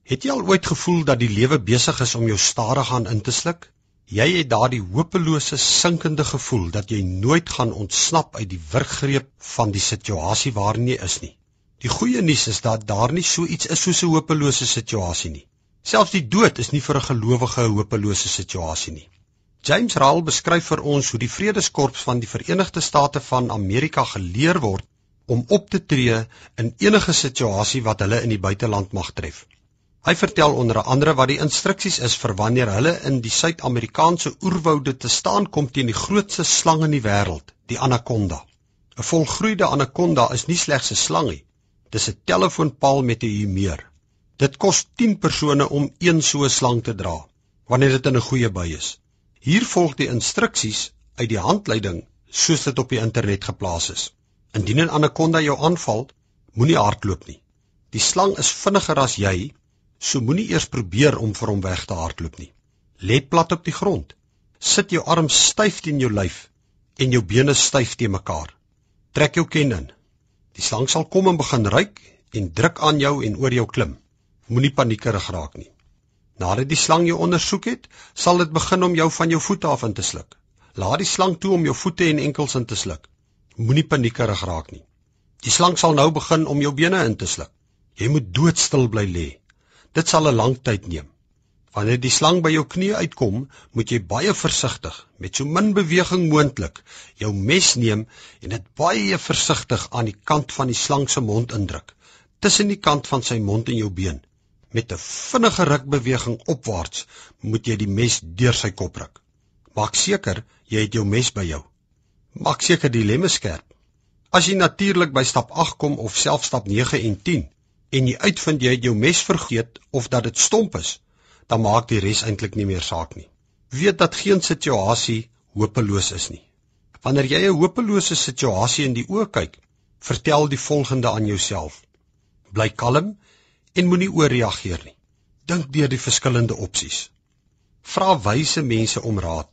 Het jy al ooit gevoel dat die lewe besig is om jou stadig aan in te sluk? Jy het daardie hopelose, sinkende gevoel dat jy nooit gaan ontsnap uit die wurggreep van die situasie waarin jy is nie. Die goeie nuus is dat daar nie so iets is soos 'n hopelose situasie nie. Selfs die dood is nie vir 'n gelowige 'n hopelose situasie nie. James Rahl beskryf vir ons hoe die Vredeskorps van die Verenigde State van Amerika geleer word om op te tree in enige situasie wat hulle in die buiteland mag tref. Hy vertel onder andere wat die instruksies is vir wanneer hulle in die Suid-Amerikaanse oerwoude te staan kom teen die grootste slang in die wêreld, die anaconda. 'n Volgroeide anaconda is nie slegs 'n slang nie, dis 'n telefoonpaal met 'n humeur. Dit kos 10 persone om een so 'n slang te dra, wanneer dit in 'n goeie bui is. Hier volg die instruksies uit die handleiding soos dit op die internet geplaas is. Indien 'n anaconda jou aanval, moenie hardloop nie. Die slang is vinniger as jy, so moenie eers probeer om vir hom weg te hardloop nie. Lê plat op die grond. Sit jou arms styf teen jou lyf en jou bene styf teen mekaar. Trek jou ken in. Die slang sal kom en begin ruik en druk aan jou en oor jou klim. Moenie paniekerig raak nie. Nadat die slang jou ondersoek het, sal dit begin om jou van jou voete af in te sluk. Laat die slang toe om jou voete en enkels in te sluk. Moenie paniekerig raak nie. Die slang sal nou begin om jou bene in te sluk. Jy moet doodstil bly lê. Dit sal 'n lang tyd neem. Wanneer die slang by jou knie uitkom, moet jy baie versigtig, met so min beweging moontlik, jou mes neem en dit baie versigtig aan die kant van die slang se mond indruk, tussen die kant van sy mond en jou been. Met 'n vinnige rukbeweging opwaarts, moet jy die mes deur sy kop ruk. Maak seker jy het jou mes by jou. Maak seker die lemme skerp. As jy natuurlik by stap 8 kom of self stap 9 en 10, en jy uitvind jy het jou mes vergeet of dat dit stomp is, dan maak die res eintlik nie meer saak nie. Weet dat geen situasie hopeloos is nie. Wanneer jy 'n hopelose situasie in die oë kyk, vertel die volgende aan jouself. Bly kalm en moenie ooreageer nie. Dink deur die verskillende opsies. Vra wyse mense om raad.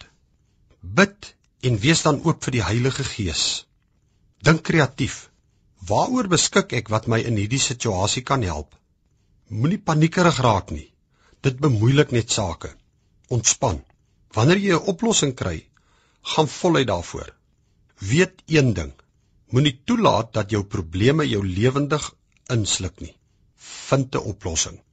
Bid en wees dan oop vir die Heilige Gees. Dink kreatief. Waaroor beskik ek wat my in hierdie situasie kan help? Moenie paniekerig raak nie. Dit bemoeilik net sake. Ontspan. Wanneer jy 'n oplossing kry, gaan voluit daarvoor. Weet een ding. Moenie toelaat dat jou probleme jou lewendig insluk nie. Vind 'n oplossing.